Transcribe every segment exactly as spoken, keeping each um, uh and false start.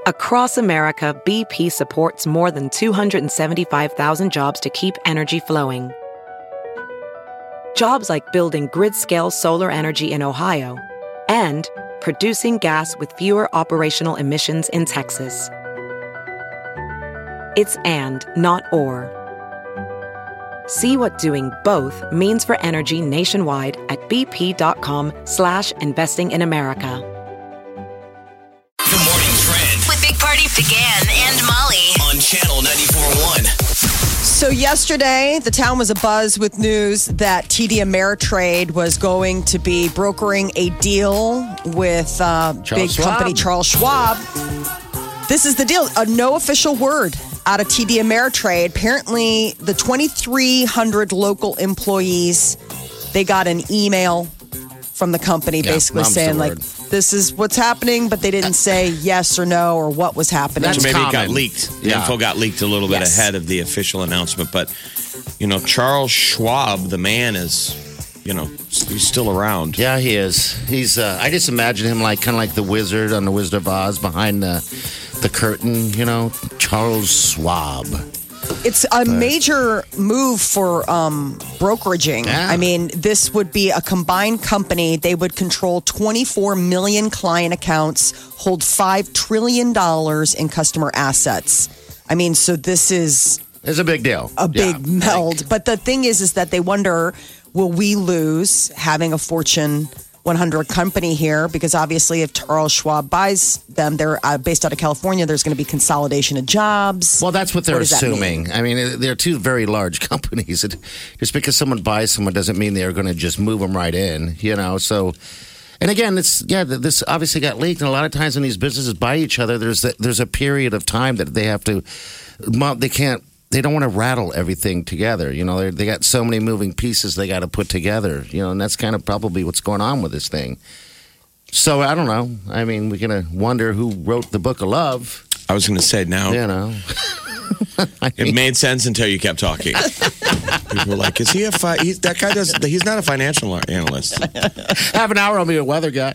Across America, B P supports more than two hundred seventy-five thousand jobs to keep energy flowing. Jobs like building grid-scale solar energy in Ohio and producing gas with fewer operational emissions in Texas. It's and, not or. See what doing both means for energy nationwide at bp.com slash investing in America. The Morning Trend With Big Party began and Molly on Channel ninety-four point one. So yesterday, the town was abuzz with news that T D Ameritrade was going to be brokering a deal with uh, big Schwab. company Charles Schwab. This is the deal. Uh, no official word out of T D Ameritrade. Apparently, the twenty-three hundred local employees, they got an email from the company Yeah, basically mom's the saying, like, word. this is what's happening, but they didn't say yes or no or what was happening. That's So maybe it got common. leaked. The Yeah. info got leaked a little bit Yes. ahead of the official announcement. But, you know, Charles Schwab, the man is, you know, he's still around. Yeah, he is. He's. Uh, I just imagine him like kind of like the wizard on the Wizard of Oz behind the the curtain. You know, Charles Schwab. It's a major move for um, brokeraging. Yeah. I mean, this would be a combined company. They would control twenty-four million client accounts, hold five trillion dollars in customer assets. I mean, so this is It's a big deal. a big Yeah. meld. But the thing is, is that they wonder, will we lose having a Fortune one hundred company here? Because obviously if Charles Schwab buys them, they're uh, based out of California, there's going to be consolidation of jobs. Well, that's what they're What does that assuming. mean? I mean, they're two very large companies. It, just because someone buys someone doesn't mean they're going to just move them right in, you know? So, and again, it's, yeah, this obviously got leaked. And a lot of times when these businesses buy each other, there's a, there's a period of time that they have to, they can't, they don't want to rattle everything together. You know, they they got so many moving pieces they got to put together, you know, and that's kind of probably what's going on with this thing. So I don't know. I mean, we're going to wonder who wrote the book of love, I was going to say now, you know. I it mean, made sense until you kept talking. People were like, is he a, fi- he's, that guy does, he's not a financial analyst. half an hour, I'll be a weather guy.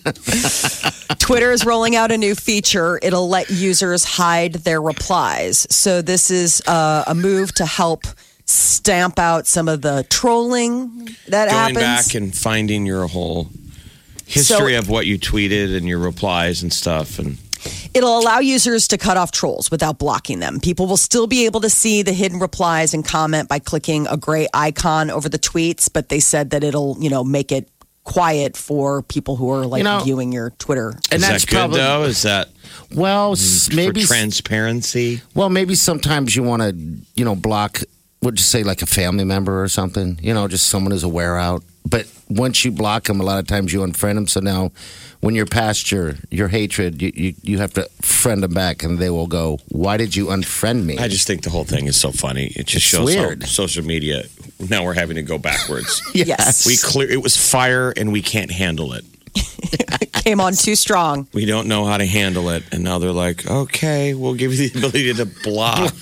Twitter is rolling out a new feature. It'll let users hide their replies. So this is uh, a move to help stamp out some of the trolling that Going happens. back and finding your whole history So- of what you tweeted and your replies and stuff. And It'll allow users to cut off trolls without blocking them. People will still be able to see the hidden replies and comment by clicking a gray icon over the tweets, but they said that it'll, you know, make it quiet for people who are like You know- viewing your Twitter. And is that's that good, probably, though? Is that well, s- maybe, for transparency? well, maybe sometimes you want to, you know, block, would you say like a family member or something, you know, just someone who's a wear out. But once you block them, a lot of times you unfriend them. So now when you're past your, your hatred, you, you, you have to friend them back and they will go, why did you unfriend me? I just think the whole thing is so funny. It just It's shows weird. how social media, now we're having to go backwards. Yes. We clear it was fire and we can't handle it. Came on too strong. We don't know how to handle it. And now they're like, okay, we'll give you the ability to block.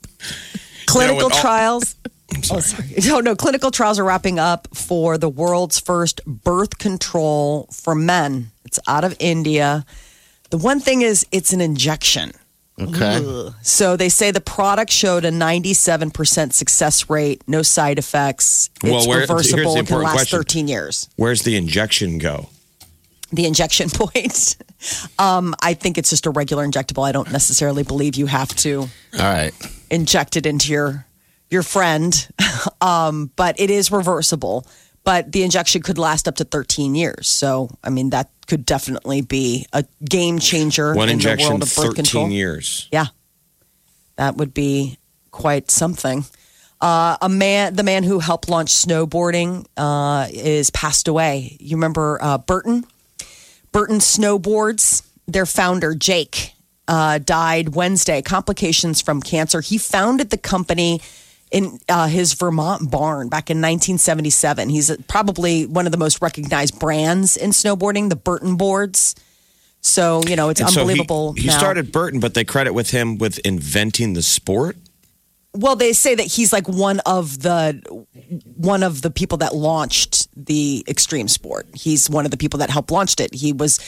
Clinical You know, when all- trials. Oh, sorry. No, no. Clinical trials are wrapping up for the world's first birth control for men. It's out of India. The one thing is, it's an injection. Okay. Ugh. So they say the product showed a ninety-seven percent success rate, no side effects. It's Well, where- here's the reversible. It can important last question. thirteen years. Where's the injection go? The injection point. um, I think it's just a regular injectable. I don't necessarily believe you have to All right. inject it into your your friend, um, but it is reversible. But the injection could last up to thirteen years. So, I mean, that could definitely be a game changer One in injection, the world of birth control. thirteen years. Yeah, that would be quite something. Uh, a man, the man who helped launch snowboarding, uh, is passed away. You remember uh, Burton? Burton Snowboards. Their founder, Jake, uh, died Wednesday. Complications from cancer. He founded the company in uh, his Vermont barn back in nineteen seventy-seven. He's probably one of the most recognized brands in snowboarding, the Burton boards. So, you know, it's And so he- unbelievable. he now. started Burton, but they credit with him with inventing the sport. Well, they say that he's like one of the one of the people that launched the extreme sport. He's one of the people that helped launched it. He was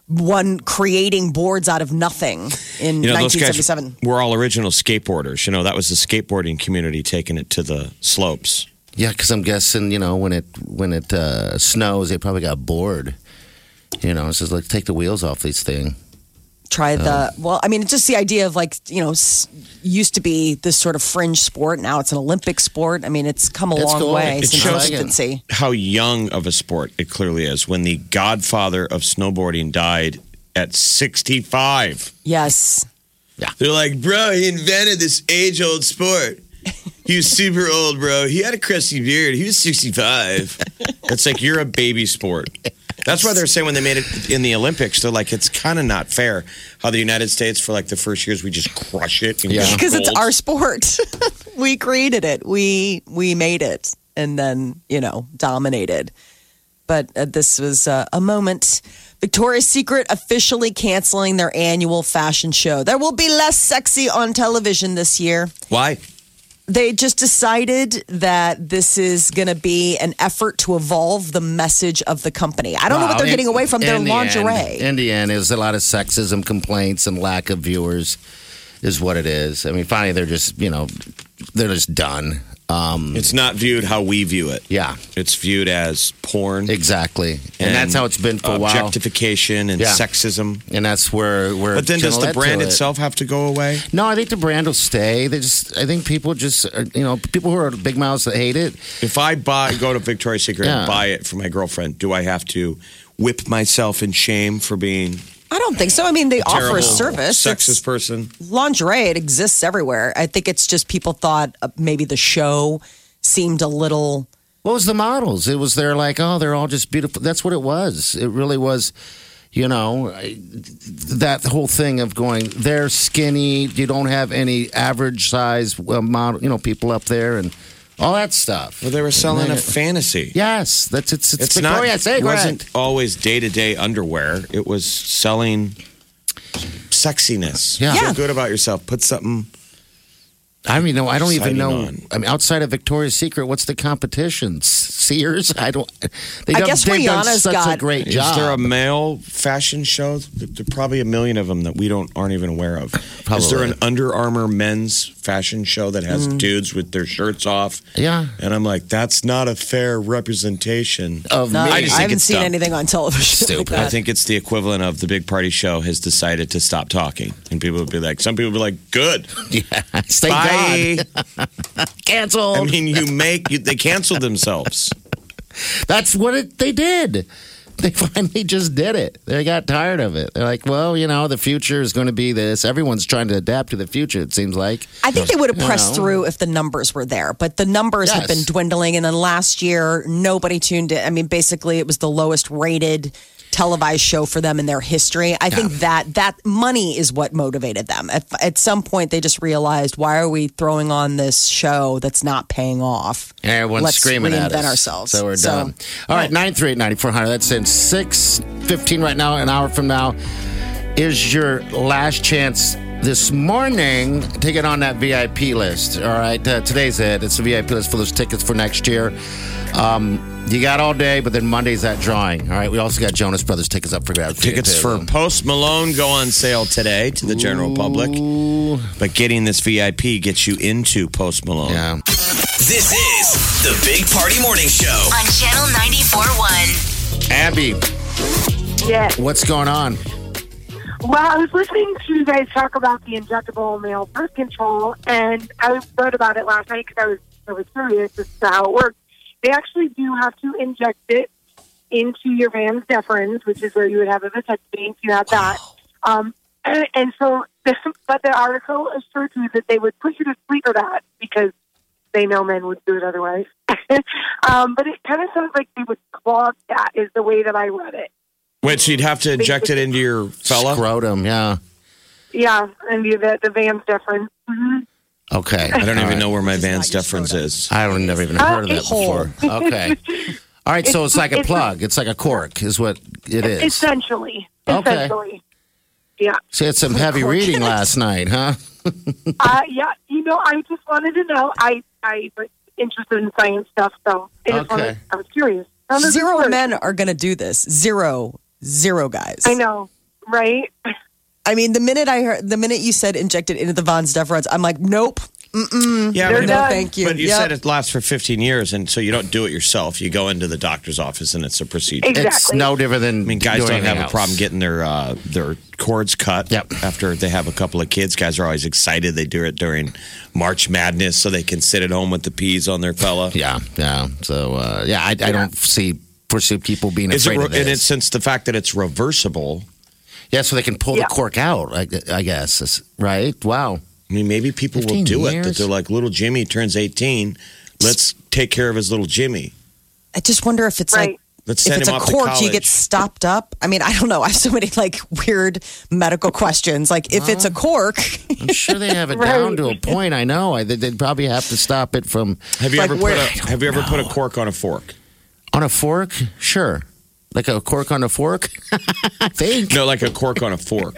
one creating boards out of nothing in You know, those nineteen guys seventy-seven. were all original skateboarders. You know, that was the skateboarding community taking it to the slopes. Yeah, because I'm guessing, you know, when it when it uh, snows, they probably got bored. You know, it's just like, take the wheels off this thing. Try the well. I mean, it's just the idea of like you know, s- used to be this sort of fringe sport. Now it's an Olympic sport. I mean, it's come a It's long cool. way It since shows- its infancy. How young of a sport it clearly is. When the godfather of snowboarding died at sixty-five. Yes, They're like, bro, he invented this age-old sport. He was super old, bro. He had a crusty beard. He was sixty-five. It's like, you're a baby sport. That's why they're saying when they made it in the Olympics, they're like, it's kind of not fair how the United States, for like the first years, we just crush it. And Yeah. get because it's gold. our sport. We created it. We we made it, and then you know dominated. But uh, this was uh, a moment. Victoria's Secret officially canceling their annual fashion show. There will be less sexy on television this year. Why? They just decided that this is going to be an effort to evolve the message of the company. I don't know what Wow, they're in- getting away from their in the lingerie. End, in the end, is a lot of sexism complaints and lack of viewers is what it is. I mean, finally, they're just, you know, they're just done. Um, It's not viewed how we view it. yeah, It's viewed as porn. exactly. And, that's how it's been for a while. Objectification and Yeah. sexism. And that's where, where But then it's does gonna the lead to brand it. itself have to go away? No, I think the brand will stay. They just, I think people just, are, you know, people who are big mouths that hate it. If I buy, go to Victoria's Secret Yeah. and buy it for my girlfriend, do I have to whip myself in shame for being I don't think so. I mean, they a offer terrible, a service. sexist It's person? lingerie. It exists everywhere. I think it's just people thought uh, maybe the show seemed a little. What was the models? It was, they're like, oh, they're all just beautiful. That's what it was. It really was, you know, I- that whole thing of going, they're skinny. You don't have any average size uh, model, you know, people up there and all that stuff. Well, they were selling a And then- fantasy. Yes, that's it's it's, It's not. Victoria's It Secret. wasn't always day to day underwear. It was selling sexiness. Yeah. Feel Yeah. good about yourself. Put something. I mean, no, I don't even Exciting know. on. I mean, outside of Victoria's Secret, what's the competition? Sears? I don't. They I done- guess they've done Rihanna's such a got- great Is job. there a male fashion show? There there are probably a million of them that we don't aren't even aware of. Is there Probably. an Under Armour men's fashion show that has dudes with their shirts off? Yeah. And I'm like, that's not a fair representation. Of No, me. I I, just think haven't it's seen dumb. anything on television. Stupid. Like I that. think it's the equivalent of the big party show has decided to stop talking. And people would be like, some people would be like, good. Yeah, thank Bye. God. Canceled. I mean, you make, you, they canceled themselves. That's what it, they did. They finally just did it. They got tired of it. They're like, well, you know, the future is going to be this. Everyone's trying to adapt to the future, it seems like. I think they would have You pressed know. through if the numbers were there, but the numbers have Yes. been dwindling. And then last year, nobody tuned in. I mean, basically, it was the lowest rated televised show for them in their history. I think that that money is what motivated them. At, at some point, they just realized, why are we throwing on this show that's not paying off? And everyone's Let's screaming at reinvent us. ourselves. So we're So- done. All right, nine three eight, nine four hundred. That's in six fifteen right now. An hour from now is your last chance this morning to get on that V I P list. All right, uh, today's it. It's the V I P list for those tickets for next year. Um, you got all day, but then Monday's that drawing. All right, we also got Jonas Brothers tickets up for grabs. Tickets for Post Malone go on sale today to the general public. But getting this V I P gets you into Post Malone. Yeah. This is the Big Party Morning Show. On Channel ninety-four point one. Abby, Yeah. what's going on? Well, I was listening to you guys talk about the injectable male birth control, and I read about it last night because I was I was curious as to how it works. They actually do have to inject it into your Vans deferens, which is where you would have a vasectomy if you have that. Um, and, and so, this, but the article assured you that they would put you to sleep for that because they know men would do it otherwise. um, but it kind of sounds like they would clog that, is the way that I read it. Wait, so you'd have to inject it into your fella? Scrotum, yeah. Yeah, and the the, the Vans deferens. Mm-hmm. Okay. I don't All even right. know where my Vans not your deferens scrotum. is. I don't never even heard of that it's- before. Okay. All right, so it's like a It's- plug. It's like a cork, is what it is. Essentially. Okay. Essentially. Yeah. So you had some heavy reading last night, huh? Uh, yeah. You know, I just wanted to know. I I was interested in science stuff, so I just Okay. wanted, I was curious. How does it Zero work? men are going to do this. Zero, zero guys. I know. right? I mean, the minute I heard, the minute you said injected into the Von Steph I'm like, nope. Mm-mm. Yeah, They're but, no, done. thank you. but you Yep. said it lasts for fifteen years, and so you don't do it yourself. You go into the doctor's office, and it's a procedure. Exactly. It's no different than. I mean, guys doing don't have anything a problem else. getting their uh, their cords cut Yep. after they have a couple of kids. Guys are always excited. They do it during March Madness so they can sit at home with the peas on their fella. Yeah, yeah. So uh, yeah, I, I don't see foresee people being Is it, afraid re- of this. and it's since the fact that it's reversible. Yeah, so they can pull Yeah. the cork out. I, I guess It's- right. Wow. I mean, maybe people will fifteen do it. That years? they're like, little Jimmy turns eighteen. Let's take care of his little Jimmy. I just wonder if it's Right. like, Let's if send it's him a off to cork, you college. get stopped up. I mean, I don't know. I have so many like weird medical questions. Like, if it's a cork, I'm sure they have it Right. down to a point. I know. I, they'd probably have to stop it from Have you Like ever where- put a Have you ever put a cork on a fork? on a fork. Sure, like a cork on a fork. I think. No, like a cork on a fork.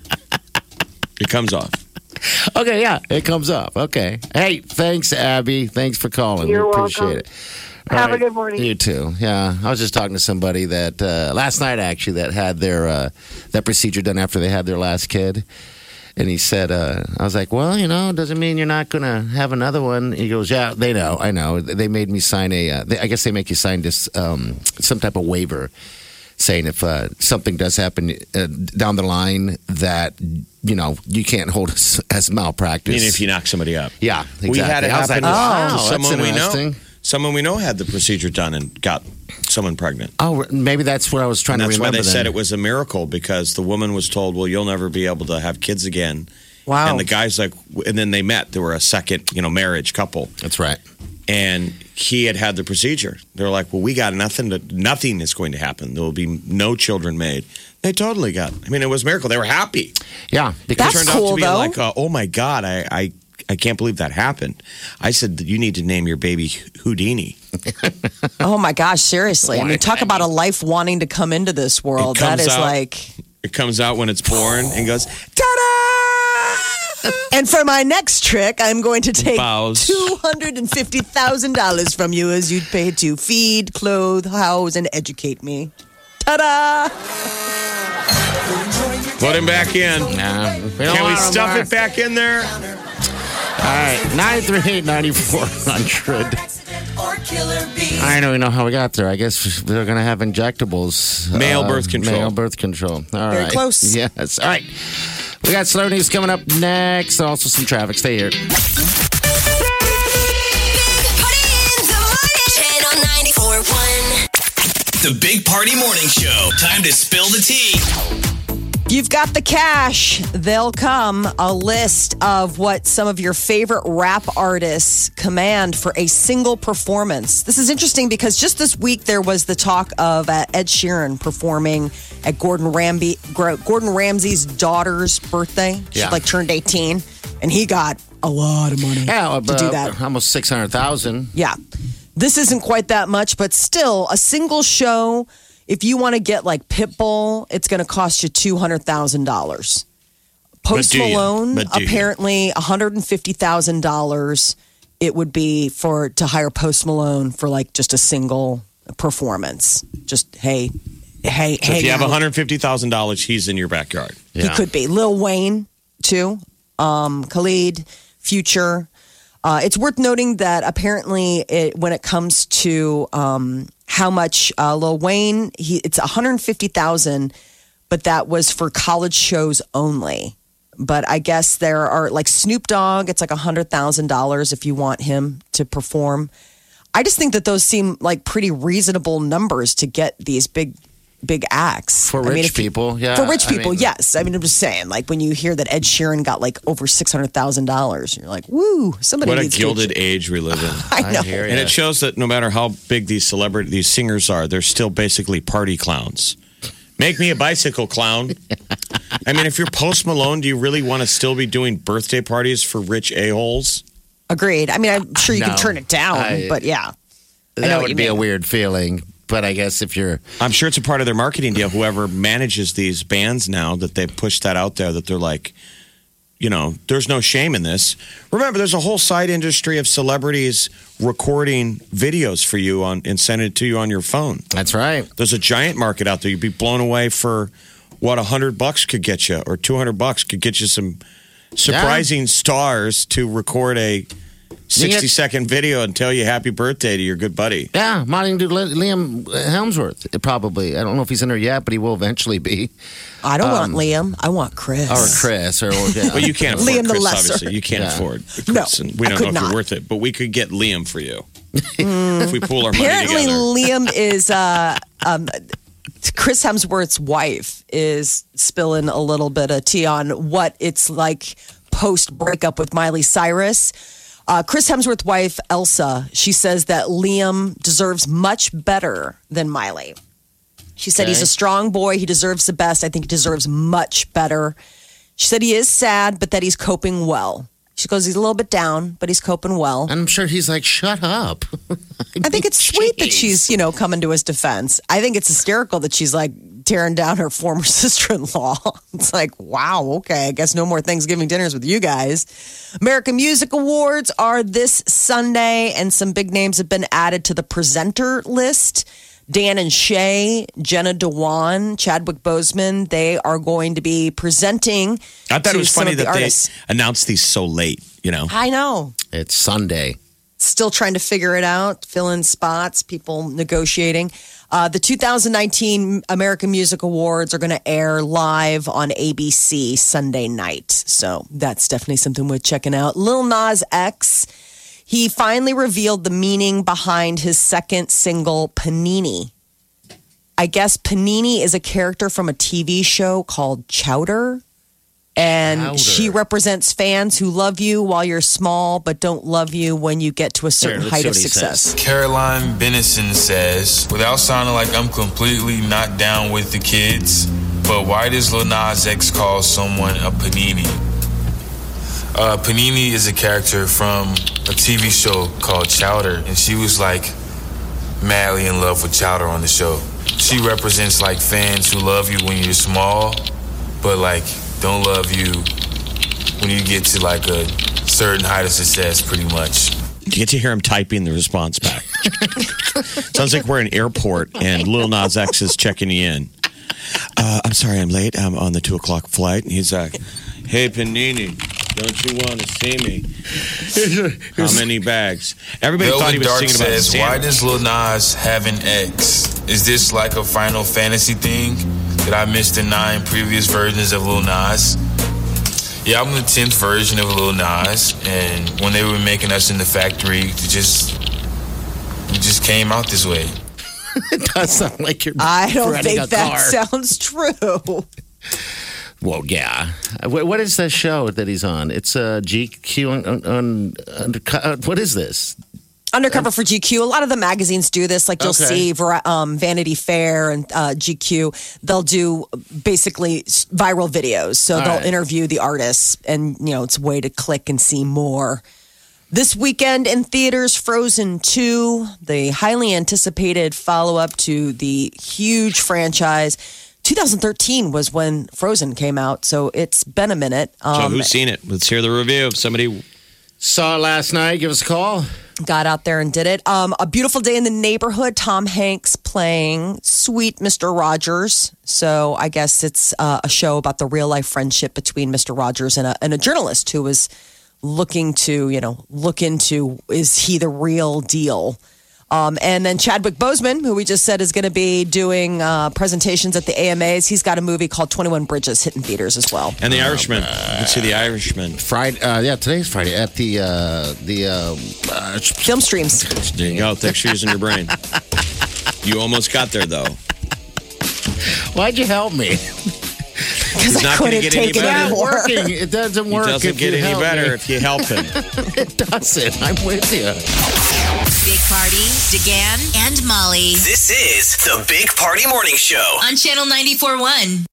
It comes off. Okay, yeah, it comes up. Okay. Hey, thanks, Abby. Thanks for calling. You're we appreciate welcome. it. Have All a good morning. You too. Yeah, I was just talking to somebody that uh, last night actually that had their uh, that procedure done after they had their last kid, and he said, uh, I was like, well, you know, doesn't mean you're not gonna have another one. He goes, yeah, they know, I know. They made me sign a. Uh, they, I guess they make you sign this um, some type of waiver, saying if uh, something does happen uh, down the line that you know you can't hold as, as I malpractice. mean, if you knock somebody up. Yeah, exactly. We had it I was happen like, to wow, that's someone we know. interesting. Someone we know had the procedure done and got someone pregnant. Oh, maybe that's what I was trying And that's to why remember. they said then. it was a miracle because the woman was told, "Well, you'll never be able to have kids again." wow. And the guy's like, and then they met. They were a second, you know, marriage couple, That's right. and he had had the procedure. They're like, "Well, we got nothing. To, nothing is going to happen. There will be no children made." They totally got. I mean, it was a miracle. They were happy. Yeah, It because That's turned out cool, to be though. like, uh, "Oh my god, I." I I can't believe that happened. I said that you need to name your baby Houdini. Oh my gosh, seriously. I mean, talk about a life wanting to come into this world. It That comes is out- like. It comes out when it's born and goes, ta-da! And for my next trick, I'm going to take Bows. two hundred fifty thousand dollars from you as you'd pay to feed, clothe, house, and educate me. Ta-da! Put him back in. Nah, we don't Can we want 'em stuff there. it back in there? All right, nine three eight ninety four hundred. I don't even know how we got there. I guess they're going to have injectables. Male birth control. Male birth control. All right. Very close. Yes. All right. We got slow news coming up next. Also some traffic. Stay here. Big Party in the morning. Channel ninety-four point one. The Big Party Morning Show. Time to spill the tea. You've got the cash. They'll come. A list of what some of your favorite rap artists command for a single performance. This is interesting because just this week there was the talk of uh, Ed Sheeran performing at Gordon Ramsay, Gordon Ramsay's daughter's birthday. She Yeah. like turned eighteen, and he got a lot of money Yeah, to do that. almost six hundred thousand. Yeah. This isn't quite that much, but still a single show. If you want to get like Pitbull, it's going to cost you two hundred thousand dollars. Post do you? Malone, But do you? apparently one hundred fifty thousand dollars it would be for to hire Post Malone for like just a single performance. Just, hey, hey, So hey. if you have one hundred fifty thousand dollars, he's in your backyard. He could be. Lil Wayne, too. Um, Khalid, Future. Uh, it's worth noting that apparently, it, when it comes to um, how much uh, Lil Wayne, he, it's one hundred fifty thousand dollars, but that was for college shows only. But I guess there are like Snoop Dogg, it's like one hundred thousand dollars if you want him to perform. I just think that those seem like pretty reasonable numbers to get these big, big acts. For I mean, rich if you- people, yeah. For rich I people, mean- yes. I mean, I'm just saying, like when you hear that Ed Sheeran got like over six hundred thousand dollars, you're like, woo, somebody What a needs gilded to. age we live in. I know. hear And ya. it shows that no matter how big these celebrity, these singers are, they're still basically party clowns. Make me a bicycle clown. I mean, if you're Post Malone, do you really want to still be doing birthday parties for rich a-holes? Agreed. I mean, I'm sure you No. can turn it down, I- but yeah. I know That what would you be a mean. weird feeling. But I guess if you're I'm sure it's a part of their marketing deal. Whoever manages these bands now, that they push that out there, that they're like, you know, there's no shame in this. Remember, there's a whole side industry of celebrities recording videos for you on and sending it to you on your phone. that's right. There's a giant market out there. You'd be blown away for what a hundred bucks could get you, or two hundred bucks could get you some surprising yeah. stars to record a sixty second video and tell you happy birthday to your good buddy. Yeah, might do Liam Hemsworth, probably. I don't know if he's in there yet, but he will eventually be. I don't um, want Liam. I want Chris. Or Chris. Or, yeah. Well, you can't afford Liam Chris, the lesser. obviously. You can't yeah. afford Chris. No, and we I don't could know if not. you're worth it, but we could get Liam for you. Mm, if we pool our money apparently, together. Liam is... Uh, um, Chris Hemsworth's wife is spilling a little bit of tea on what it's like post-breakup with Miley Cyrus. Uh, Chris Hemsworth's wife, Elsa, she says that Liam deserves much better than Miley. She said Okay. he's a strong boy. He deserves the best. I think he deserves much better. She said he is sad, but that he's coping well. She goes, he's a little bit down, but he's coping well. And I'm sure he's like, shut up. I think it's sweet that she's, you know, coming to his defense. I think it's hysterical that she's like tearing down her former sister-in-law. It's like, wow, okay, I guess no more Thanksgiving dinners with you guys. American Music Awards are this Sunday, and some big names have been added to the presenter list. Dan and Shay, Jenna Dewan, Chadwick Boseman, they are going to be presenting. I thought to it was some funny of the that they artists. announced these so late, you know? I know. It's Sunday. Still trying to figure it out, fill in spots, people negotiating. Uh, the two thousand nineteen American Music Awards are going to air live on A B C Sunday night. So that's definitely something worth checking out. Lil Nas X, he finally revealed the meaning behind his second single, Panini. I guess Panini is a character from a T V show called Chowder. And Chowder. she represents fans who love you while you're small, but don't love you when you get to a certain Here, let's height see of what he success. says. Caroline Bennison says, without sounding like I'm completely not down with the kids, but why does Lil Nas X call someone a panini? Uh, Panini is a character from a T V show called Chowder, and she was like madly in love with Chowder on the show. She represents like fans who love you when you're small, but like don't love you when you get to like a certain height of success, pretty much. You get to hear him typing the response back. Sounds like we're in an airport and Lil Nas X is checking you in. Uh, I'm sorry, I'm late. I'm on the two o'clock flight. And he's like, hey, Panini, don't you want to see me? How many bags? Everybody Velvet thought he was Dark singing about says, Santa. why does Lil Nas have an X? Is this like a Final Fantasy thing? Did I miss the nine previous versions of Lil Nas? Yeah, I'm the tenth version of Lil Nas, and when they were making us in the factory, it just we just came out this way. It does sound like you're I don't renting think a that car. sounds true. Well, yeah. What what is that show that he's on? It's uh, G Q on, on, on undercut. What is this? Undercover for G Q. A lot of the magazines do this. Like you'll Okay. see Var- um, Vanity Fair and uh, G Q. They'll do basically s- viral videos. So All they'll right. interview the artists, and you know it's a way to click and see more. This weekend in theaters, Frozen two, the highly anticipated follow-up to the huge franchise. twenty thirteen was when Frozen came out, so it's been a minute. So Um, who's seen it? Let's hear the review. Somebody. Saw it last night. Give us a call. got out there and did it. Um, a Beautiful Day in the Neighborhood, Tom Hanks playing sweet Mister Rogers. So I guess it's uh, a show about the real life friendship between Mister Rogers and a, and a journalist who was looking to, you know, look into, is he the real deal? Um, and then Chadwick Boseman, who we just said is going to be doing uh, presentations at the A M As. He's got a movie called twenty-one Bridges hitting theaters as well. And the Irishman. You can see the Irishman. Friday. Uh, yeah, today's Friday at the uh, the uh, uh, Film streams. There you go. Thanks for using your brain. You almost got there, though. Why'd you help me? Because I not gonna couldn't get any take it better. anymore. Working. It doesn't It work. doesn't if get you any help better me. if you help him. It doesn't. I'm with you. Big Party, DeGan, and Molly This is the Big Party Morning Show. on Channel ninety-four point one.